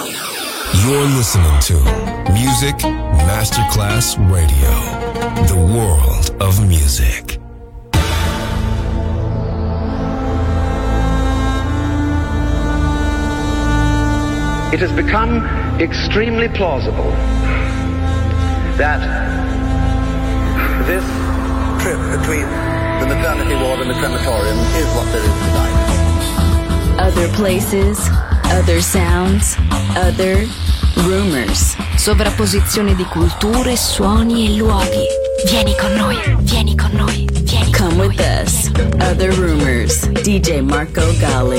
You're listening to Music Masterclass Radio, the world of music. It has become extremely plausible that this trip between the maternity ward and the crematorium is what there is tonight. Other places, other sounds, other rumors. Sovrapposizione di culture, suoni e luoghi. Vieni con noi, vieni con noi, vieni con noi. Come with us. Other rumors. DJ Marco Gally.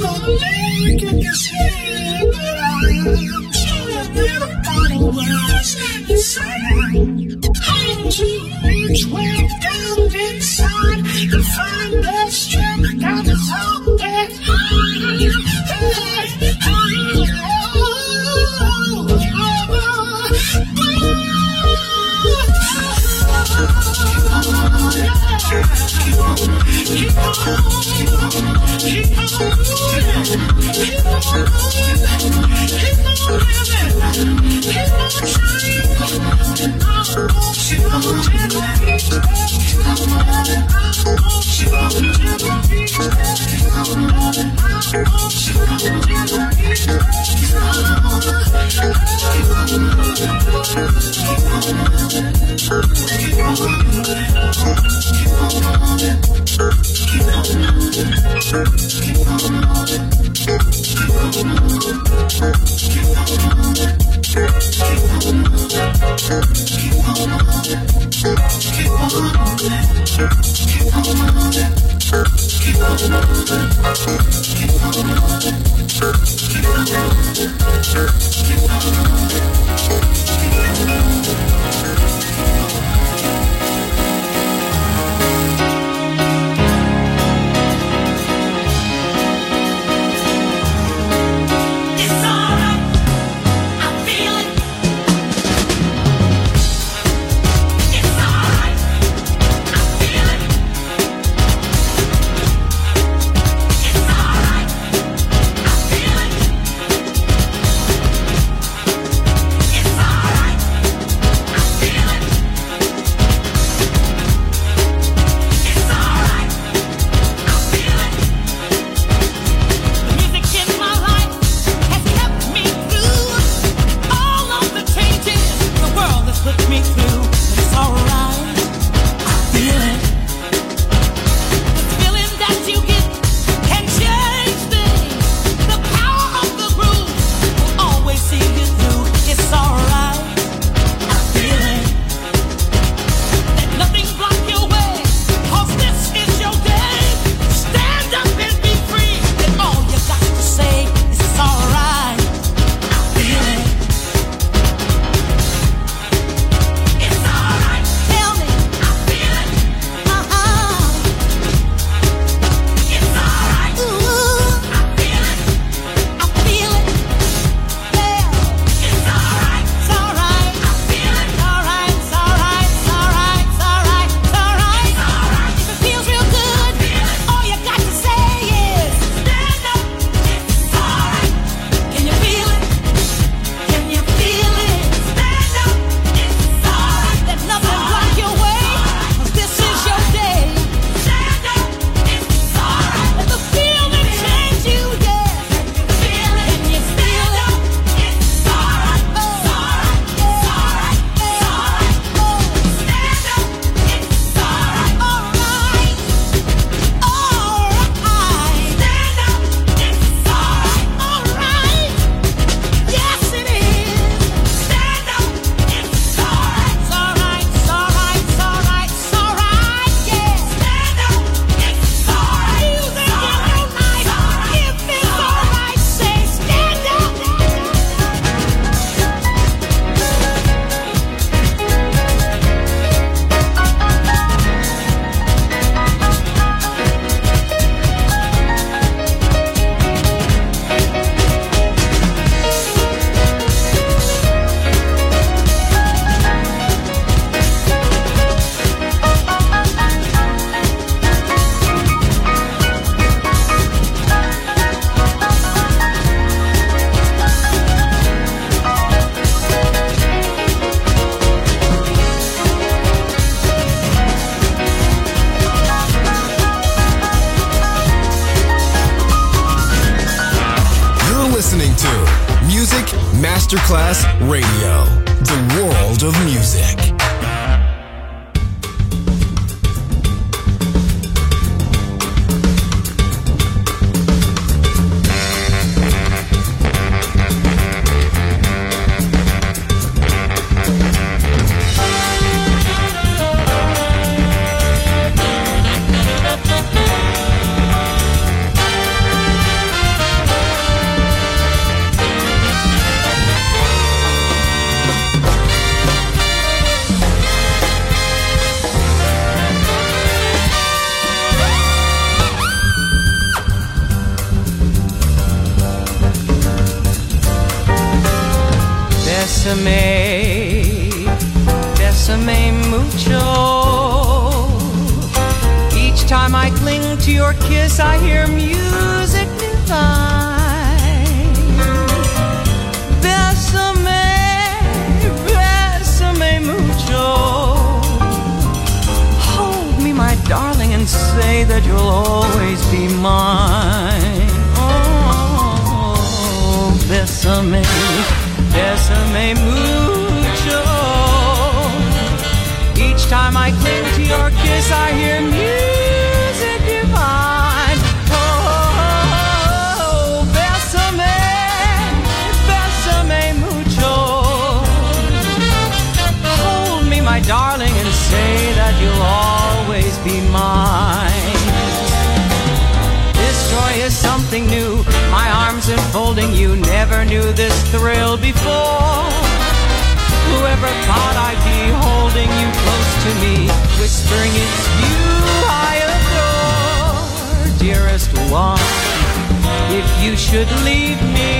Masterclass Radio, the world of music. Bésame, bésame mucho. Each time I cling to your kiss, I hear music divine. Bésame, bésame mucho. Hold me, my darling, and say that you'll always be mine. Oh, bésame, bésame mucho. Each time I cling to your kiss, I hear music divine. Oh, bésame, bésame mucho. Hold me, my darling, and say that you'll always be mine. This joy is something new. My arms enfolding you, never knew this thrill before. Whoever thought I'd be holding you close to me, whispering it's you I adore. Dearest one, if you should leave me,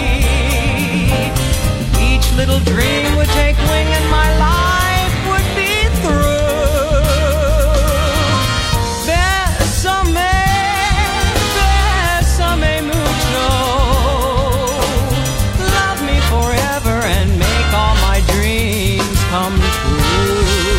each little dream would take wing and my life would be through. Bésame, bésame mucho. Love me forever and make all my dreams come true.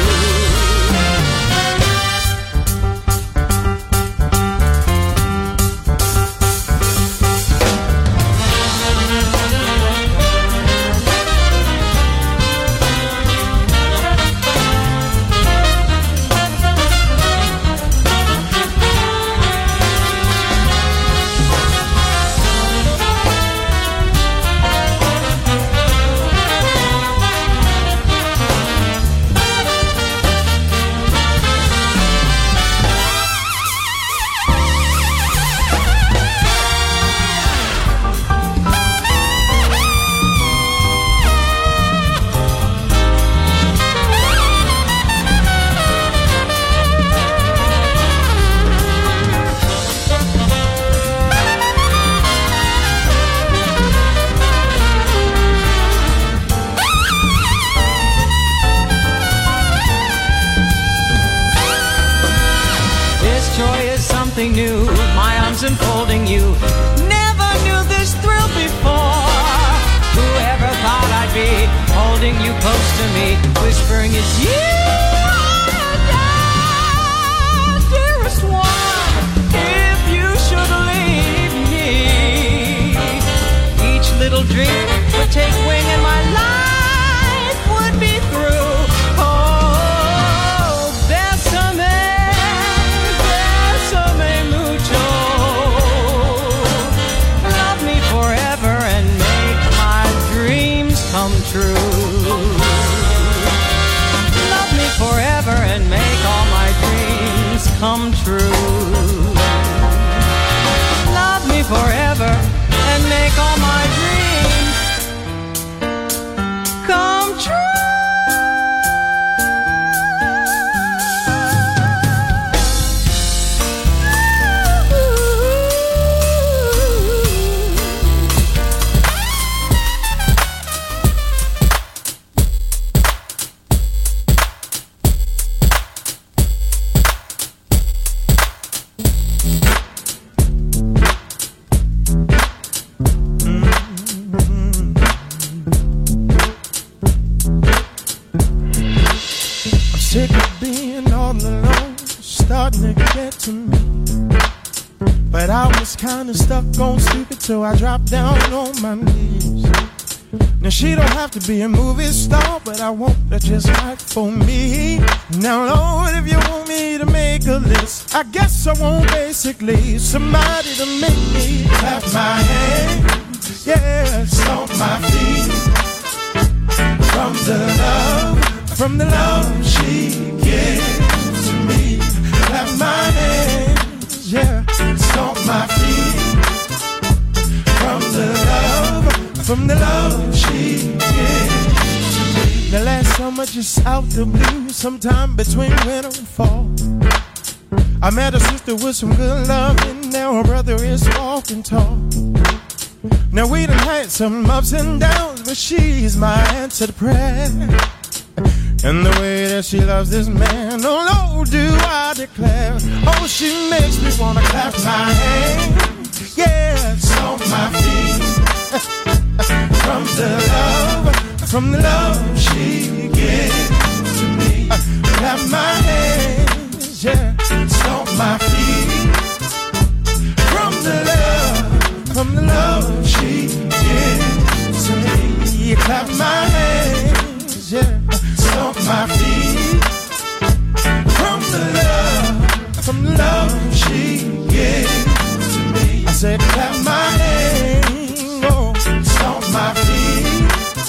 New, my arms enfolding you, never knew this thrill before. Whoever thought I'd be holding you close to me, whispering it's you I adore. Dearest one, if you should leave me, each little dream would take wing and my life would be through. Come true. Love me forever and make all my dreams come true. Love me forever and make all my dreams come true. Kinda stuck on stupid, so I dropped down on my knees. Now she don't have to be a movie star, but I want her just right for me. Now Lord, if you want me to make a list, I guess I want basically somebody to make me clap my hands, yeah, stomp my feet. From the love she gives to me, clap my hands, yeah, stomp my feet. From the love she gives to me. The last summer just out the blue, sometime between winter and fall, I met a sister with some good love, and now her brother is walking tall. Now we done had some ups and downs, but she's my answer to prayer. And the way that she loves this man, oh Lord, do I declare. Oh, she makes me wanna clap my hands, yeah, stomp my feet. From the love she gives to me. Clap my hands, yeah, stomp my feet. From the love she gives to me. Clap my hands, yeah, stomp my feet. From the love she gives to me. I said, clap my hands, oh, stomp my feet.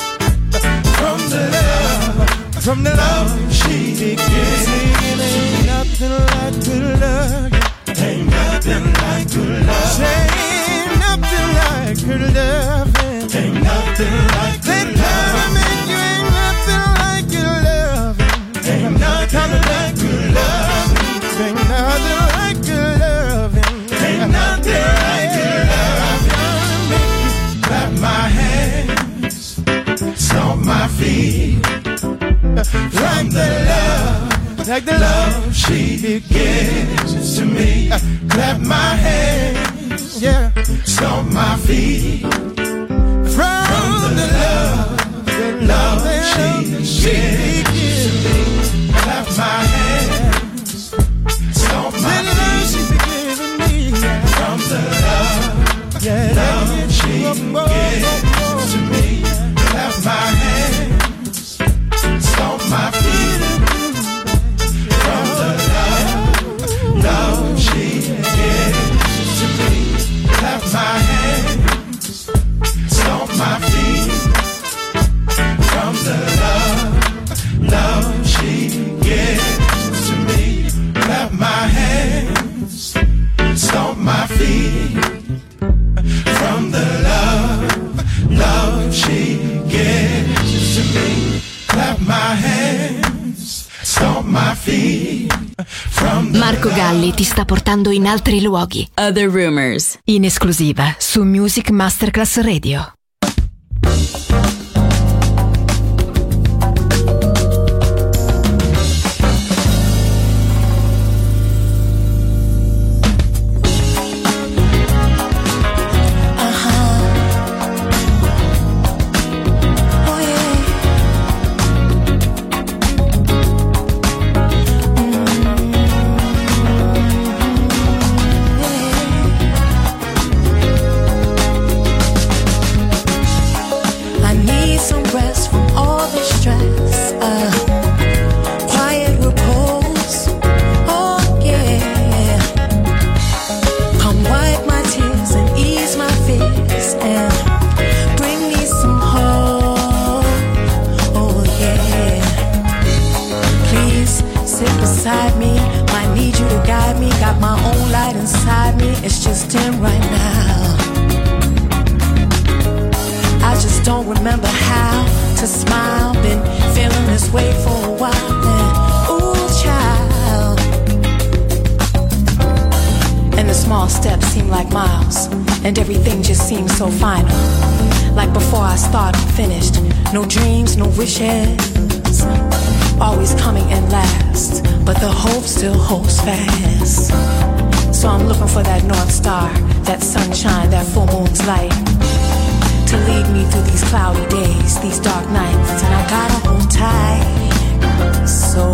From the love she gives me. Ain't nothing like good love. Ain't nothing like good love. Ain't nothing like good love. Ain't nothing like good love. You ain't nothing like good love. Ain't nothing like good love. Ain't nothing like good love. Ain't nothing like good love. Make you clap my hands, stomp my feet. Like the love she gives to me. Clap my hands, yeah, stomp my feet. From the love she gives to me. Clap my hands, stomp my feet. From the love she gives to me. Clap my hands, stomp my feet. From the love she gives to me. Clap my hands, stomp my feet. From the love she gives to me. Clap my hands, stomp my feet. From the love she gives to me. Clap my hands, stomp my feet. Marco Galli ti sta portando in altri luoghi. Other Rumors, in esclusiva su Music Masterclass Radio. And everything just seems so final. Like before I started, finished. No dreams, no wishes. Always coming in last. But the hope still holds fast. So I'm looking for that North Star, that sunshine, that full moon's light, to lead me through these cloudy days, these dark nights. And I gotta hold tight. So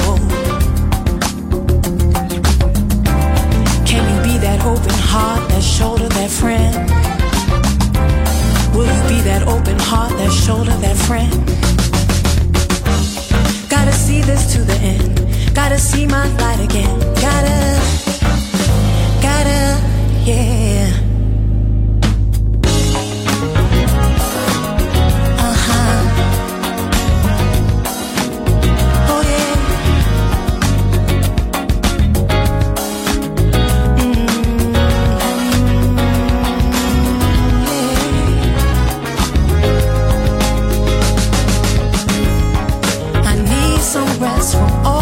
can you be that open heart, that shoulder, that friend? Will you be that open heart, that shoulder, that friend? Gotta see this to the end. Gotta see my light again. Gotta, yeah.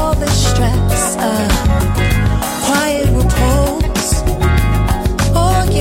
Quiet repose, oh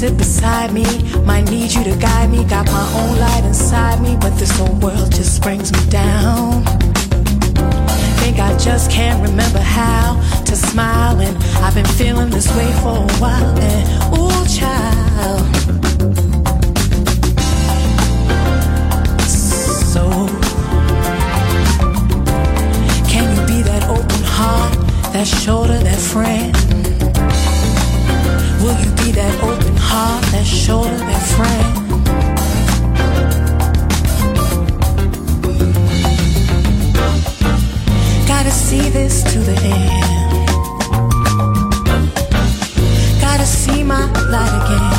sit beside me. Might need you to guide me. Got my own light inside me, but this whole world just brings me down. Think I just can't remember how to smile, and I've been feeling this way for a while. And ooh, child. So, can you be that open heart, that shoulder, that friend? Will you be that open heart, that shoulder, that friend? Gotta see this to the end. Gotta see my light again.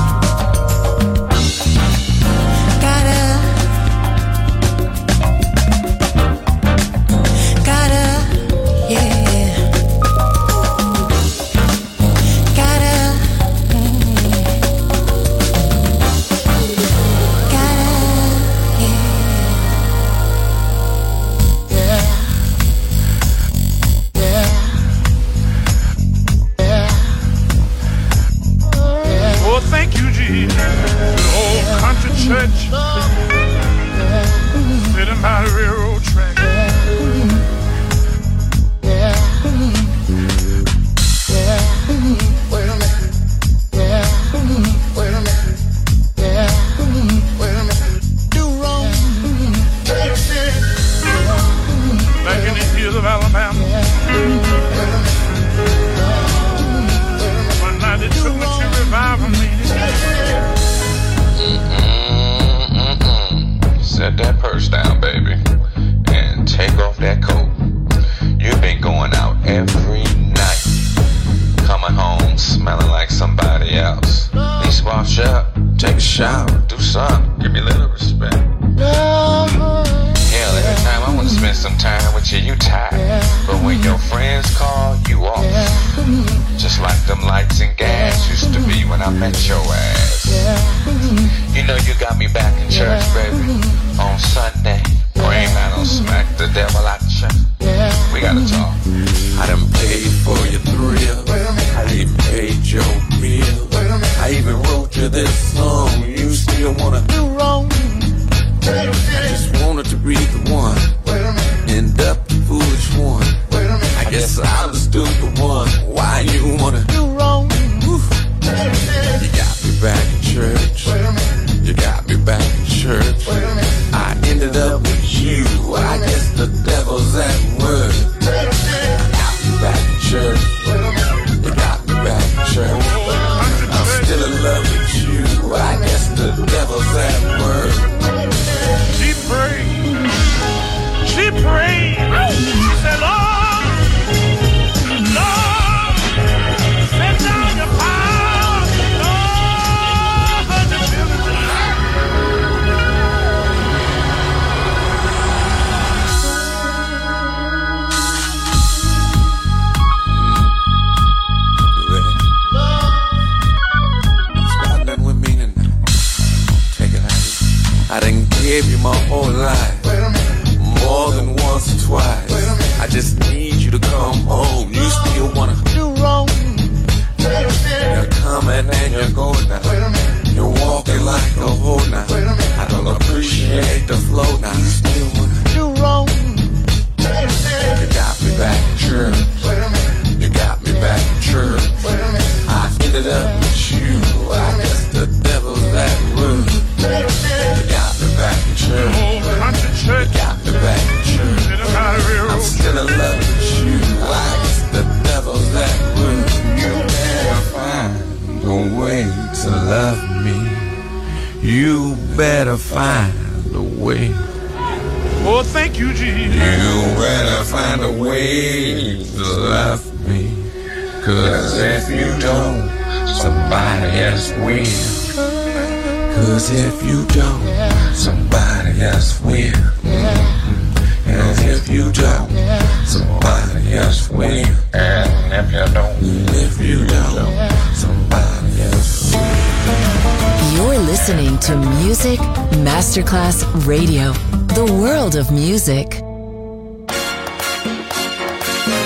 Masterclass Radio, the world of music.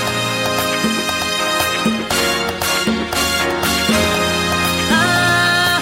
I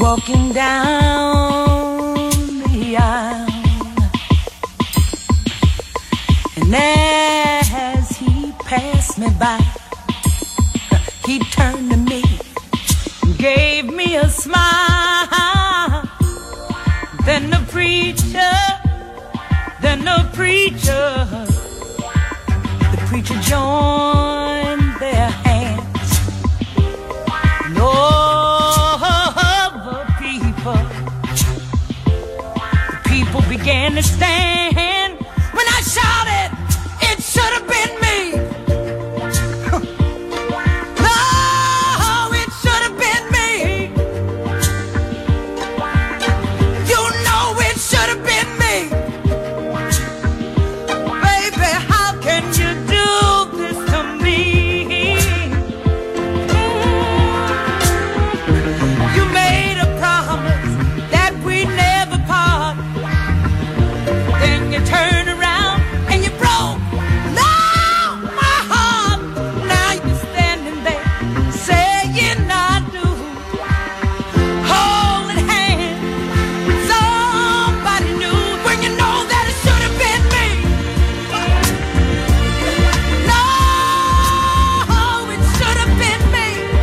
walking down the aisle, and as he passed me by, he turned to me and gave me a smile. Then the preacher joined their hands, and all the people began to stand when I shouted, "It should have been me." No, it should have been me. You know it should have been me. Baby, how can you do this to me? You made a promise that we'd never part. Then you turn around and you broke my heart. Now you're standing there saying I do, holding hands with somebody new, when you know that it should have been me. No, it should have been me.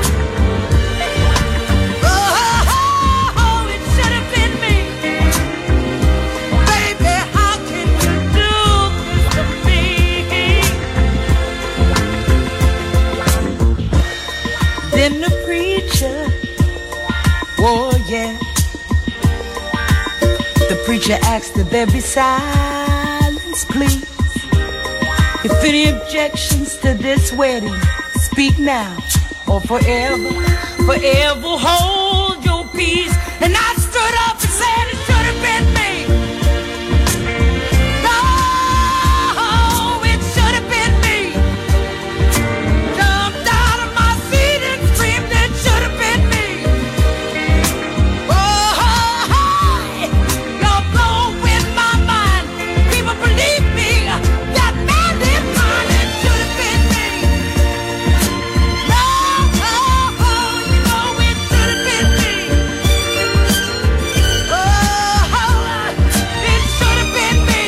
Oh, it should have been me. Baby, how can you do this to me? Then the preacher, oh yeah, the preacher asked that there be silence, please. If any objections to this wedding, speak now or forever, forever hold your peace. And I stood up and said it should have been me. No, it should have been me. Jumped out of my seat and screamed it should have been me. Oh, you're blowing my mind. People believe me. That man is mine. It should have been me. No, you know it should have been me. Oh, it should have been me.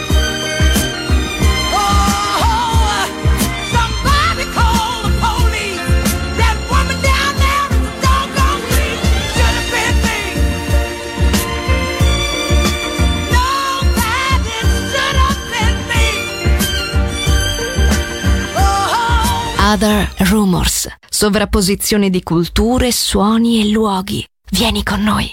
Oh, somebody call the police. That woman down there is a doggone thief. Should have been me. No, that it should have been me. Oh. Other Rumors. Sovrapposizione di culture, suoni e luoghi. Vieni con noi.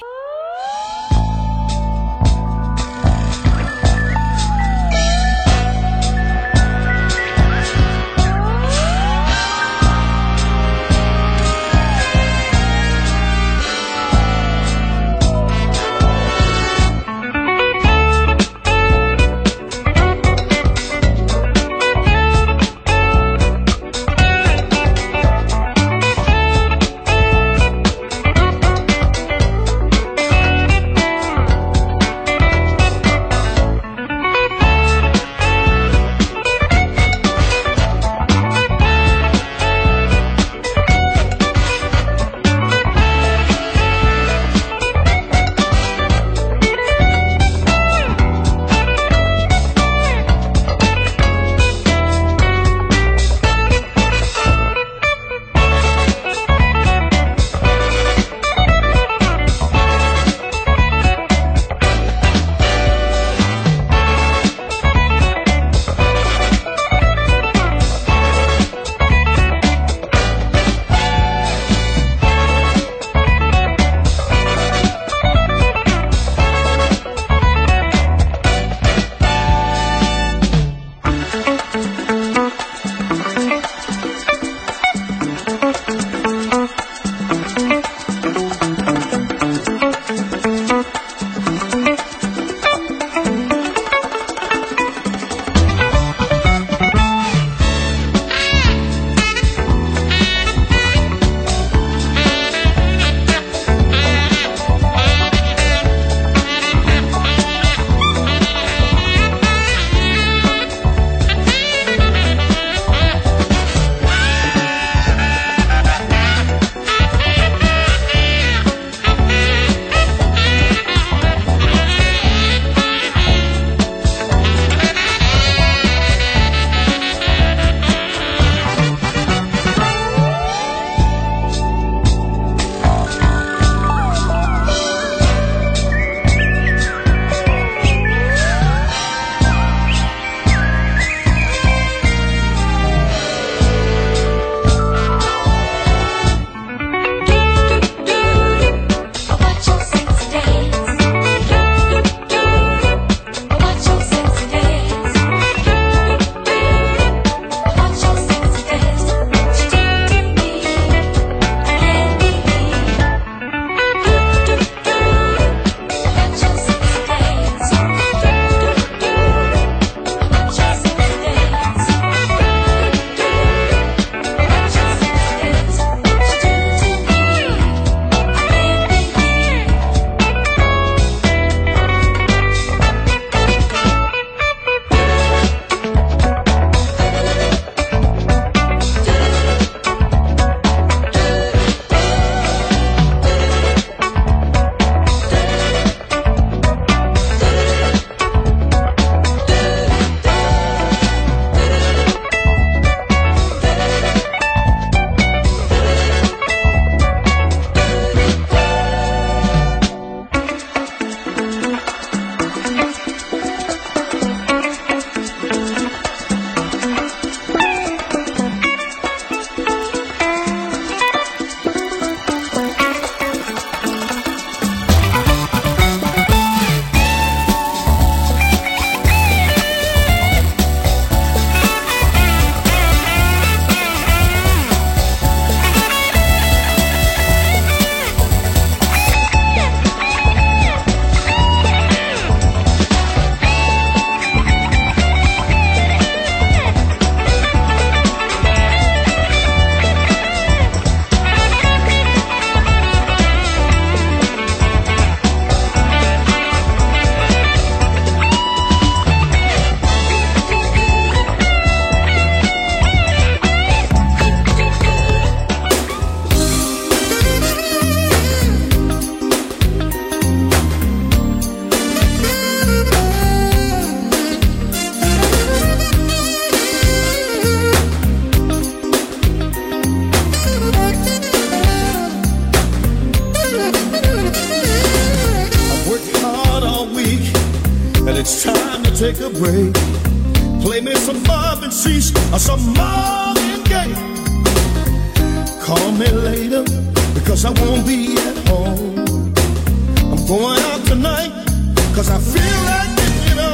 break. Play me some Marvin Cease or some Marvin Gaye. Call me later because I won't be at home. I'm going out tonight because I feel like it, you know.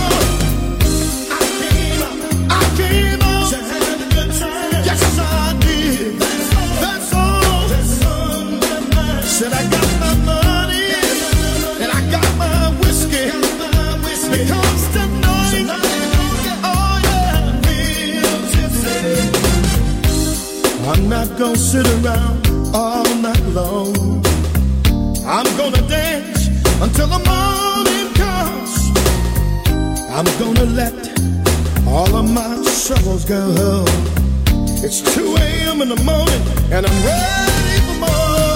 I came out to have a good time. Yes, I did. That's all. Said I got my money and I got my whiskey. Because tonight, oh yeah, real tipsy. I'm not gonna sit around all night long. I'm gonna dance until the morning comes. I'm gonna let all of my troubles go. It's 2 a.m. in the morning and I'm ready for more.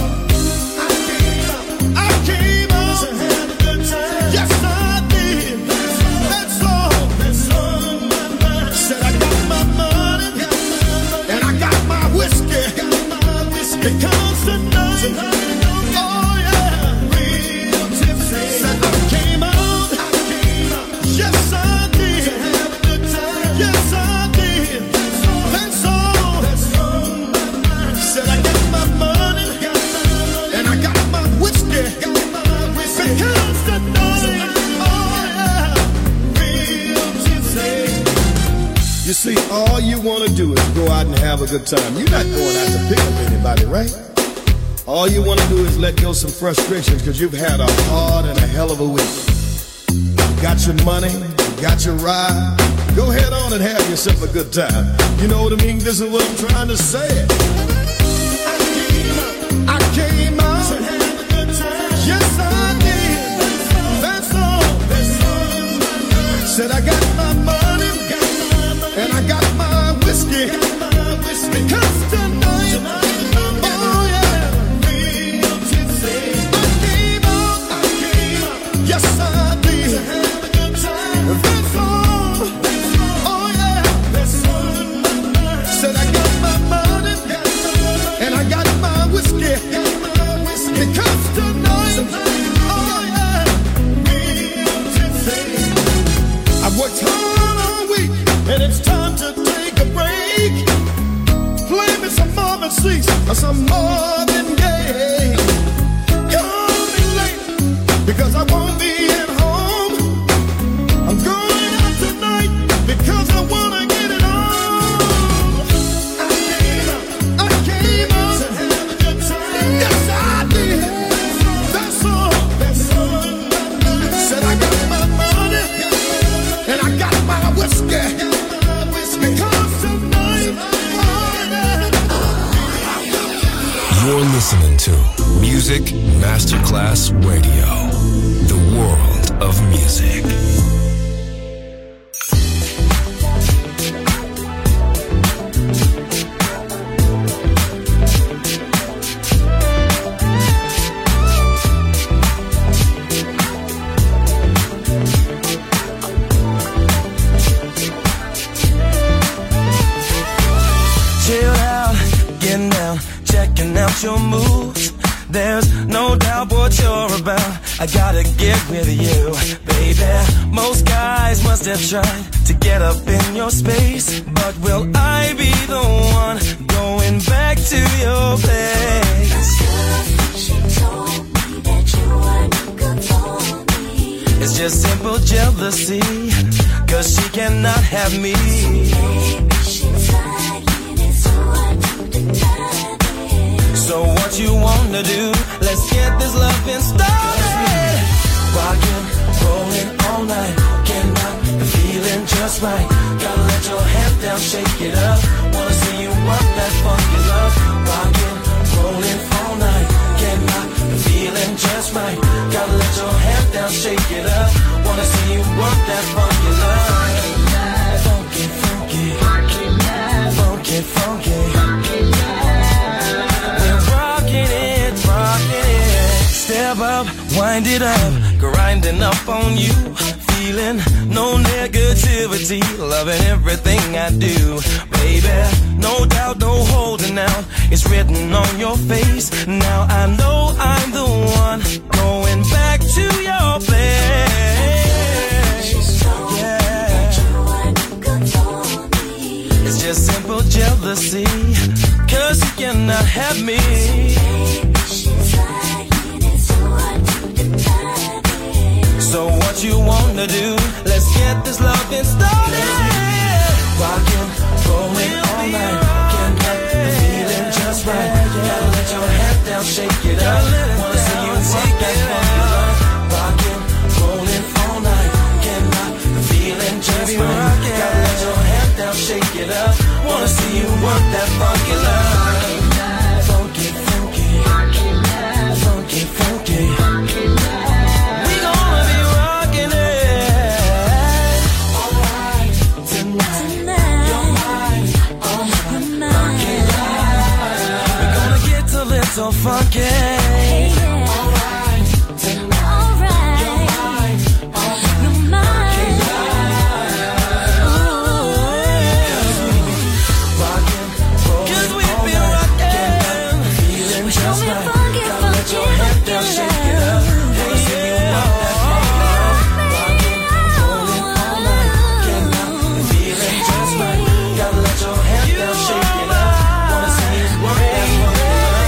I came out to have a good time. Yes, I did. That's all. Said I got my money and I got my whiskey. Because tonight, oh yeah, real tipsy. Said I came out, yes I did. Yes I did. That's all. Said I got my money and I got my whiskey. Because tonight, oh yeah, real tipsy. You see, all you want to do is go out and have a good time. You're not going out to pick up anybody, right? All you want to do is let go some frustrations because you've had a hard and a hell of a week. You got your money, you got your ride. Go head on and have yourself a good time. You know what I mean? This is what I'm trying to say. I came out to have a good time. Yes, I did. That's all. Said I got my money and I got my whiskey. Because tonight, oh yeah, real tipsy. I came out, yes I did. To have a good time. That's all. Oh yeah, said I got my money and I got my whiskey. Because tonight, oh yeah, real tipsy. I've worked hard all week and it's time to take a break. Play me some Marvin Cease or some Marvin Gaye. Call me late because I won't be at home. I'm going out tonight because I wanna get it on. I came out to have a good time. Yes, I did. That's all. Said I got my money and I got my whiskey. Because tonight, You're listening to Music Masterclass Radio, the world of music. Chill out, getting down, checking out your moves. There's no doubt what you're about. I gotta get with you, baby. Most guys must have tried to get up in your space, but will I be the one going back to your place? She told me that you weren't good for me. It's just simple jealousy, 'cause she cannot have me. So what you wanna do? Let's get this loving started. Rockin', rollin' all night. Cannot be feeling just right. Gotta let your head down, shake it up. Wanna see you work that funky love. Rockin', rollin' all night. Cannot be feeling just right. Gotta let your head down, shake it up. Wanna see you work that funky love. Funky, funky, funky, funky. Step up, wind it up, grinding up on you. Feeling no negativity, loving everything I do. Baby, no doubt, no holding out. It's written on your face. Now I know I'm the one going back to your place. just simple jealousy, 'cause you cannot have me. So what you wanna do? Let's get this loving started. Rockin', rollin' all night. Can't get the feeling just right. Gotta let your head down, shake it up. Wanna see you take that funky line. Rockin', rollin' all night. Can't get the feeling just right. Gotta let your head down, shake it up. Wanna see you work that funky line. Funky, funky, funky, funky. So funky. Alright, tonight. Alright, you're mine. You're mine. Cause we've been rockin', feeling just right. Gotta let your head down, shake it up. Wanna see you rock that funky line. Rockin', rollin' all night. Can't stop the feeling just right. Gotta let your head down, shake it up. Wanna see you work that funky line.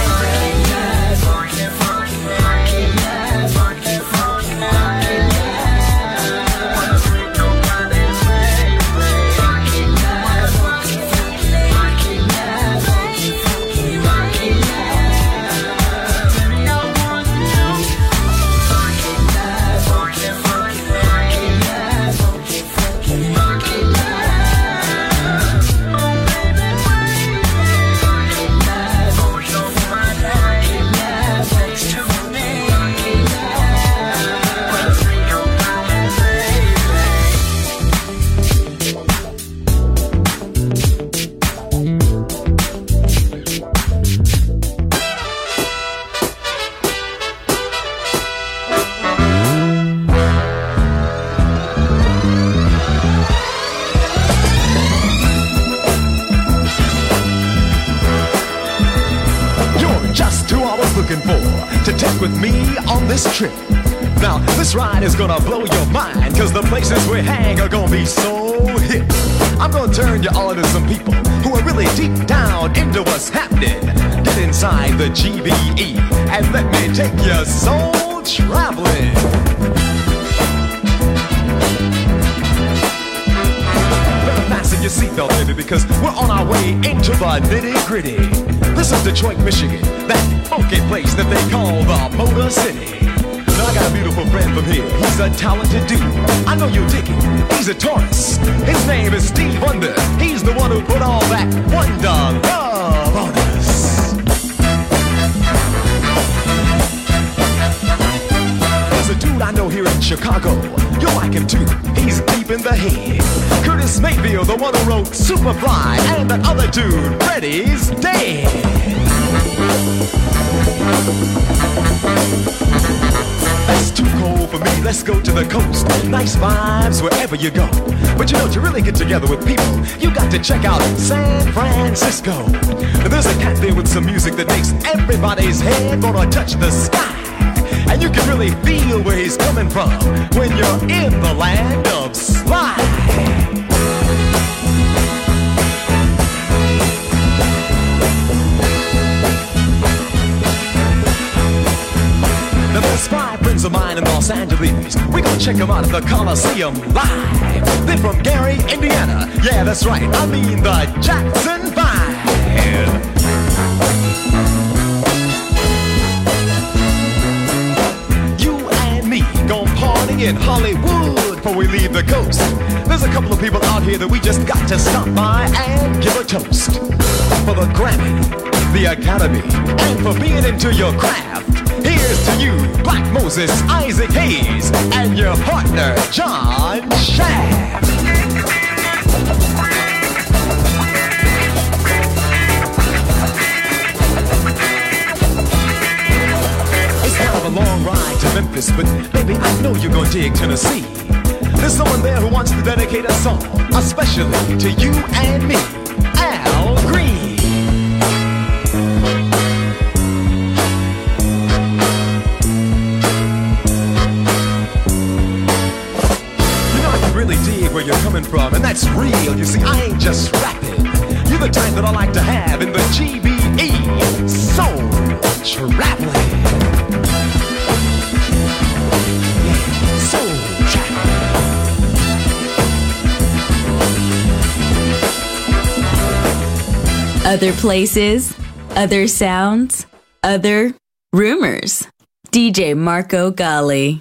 With me on this trip. Now, this ride is gonna blow your mind, 'cause the places we hang are gonna be so hip. I'm gonna turn you on to some people who are really deep down into what's happening. Get inside the GBE and let me take your soul traveling. Better fasten your seatbelt, baby, because we're on our way into the nitty-gritty. This is Detroit, Michigan, that funky place that they call the Motor City. Now I got a beautiful friend from here. He's a talented dude. I know you'll dig him. He's a Taurus. His name is Steve Wonder. He's the one who put all that wonder love on us. There's a dude I know here in Chicago. You'll like him too. He's deep in the head. Curtis Mayfield, the one who wrote Superfly, and that other dude, Freddie's dead. That's too cold for me, let's go to the coast. Nice vibes wherever you go. But you know, to really get together with people, you got to check out San Francisco. Now, there's a cat there with some music that makes everybody's head gonna touch the sky. And you can really feel where he's coming from when you're in the land of slide. Now there's 5 friends of mine in Los Angeles. We're gonna check them out at the Coliseum live. They're from Gary, Indiana. Yeah, that's right, I mean the Jackson 5. Gon' party in Hollywood before we leave the coast. There's a couple of people out here that we just got to stop by and give a toast. For the Grammy, the Academy, and for being into your craft. Here's to you, Black Moses, Isaac Hayes, and your partner, John Shaft. A long ride to Memphis, but baby, I know you're gonna dig Tennessee. There's someone there who wants to dedicate a song, especially to you and me, Al Green. You know, I can really dig where you're coming from, and that's real. You see, I ain't just rapping. You're the type that I like to have in the GBE. Soul Traveling. Yeah, Soul Traveling. Other places, other sounds, other rumors. DJ Marco Gally.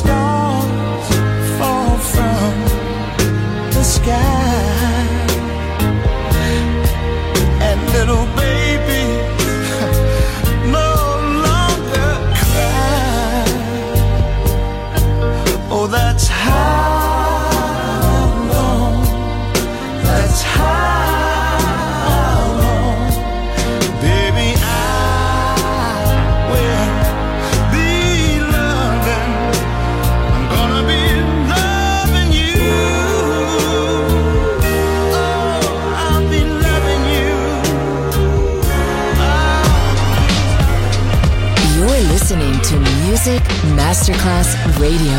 stars fall from the sky, and little baby no longer cry. Oh, that's how long, that's how long, baby, I will be loving, I'm gonna be loving you. Oh, I'll be loving you. You're listening to Music Masterclass Radio.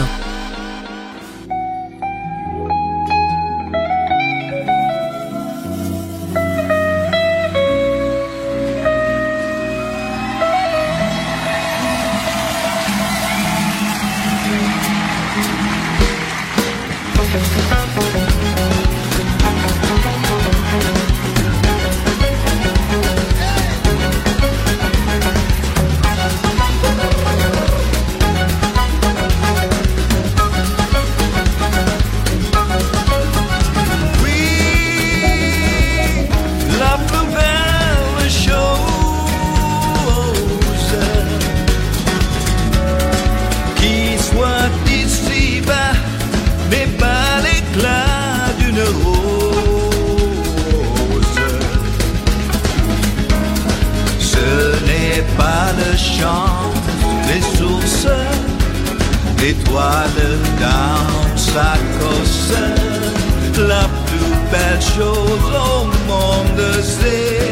L'étoile dans sa cosse, la plus belle chose au monde, c'est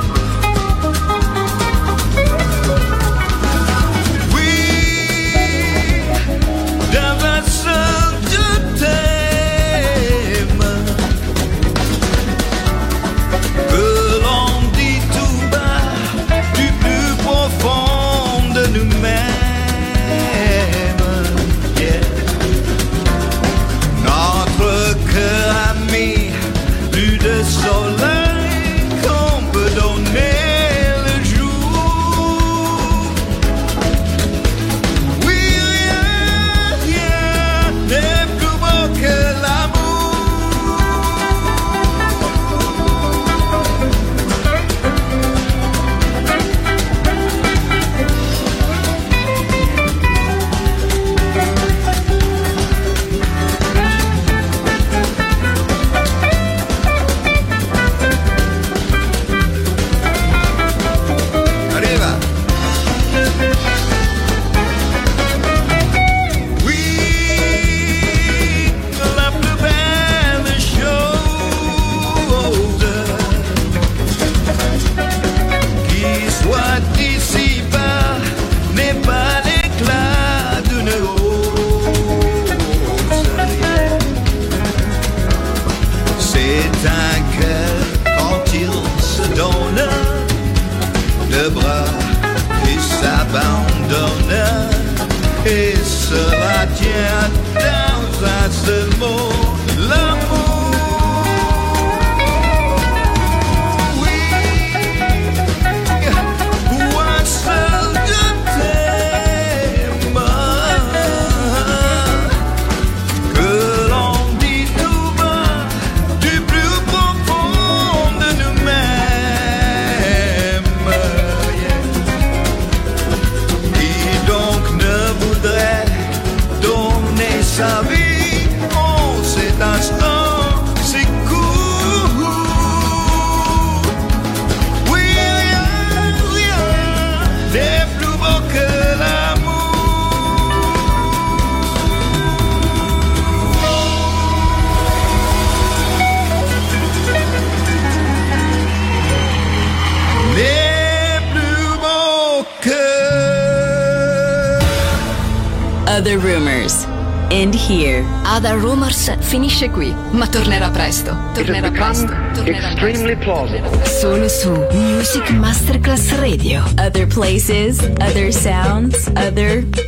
oui, dans un seul je t'aime, que l'on dit tout bas du plus profond de nous-mêmes. Cœur ami, plus de soleil qu'on peut donner le jour. Oui, rien n'est plus beau que et cela tient dans un seul mot, l'amour. Oui, pour un seul je t'aime, que l'on dit tout bas du plus profond de nous-mêmes. Donner sa vie en cet instant, c'est court. Oui, rien n'est plus beau que l'amour. N'est plus beau que Other Rumors. End here. Other Rumors finisce qui, ma tornerà presto. Tornerà presto. Extremely plausible. Solo su Music Masterclass Radio. Other places, other sounds, other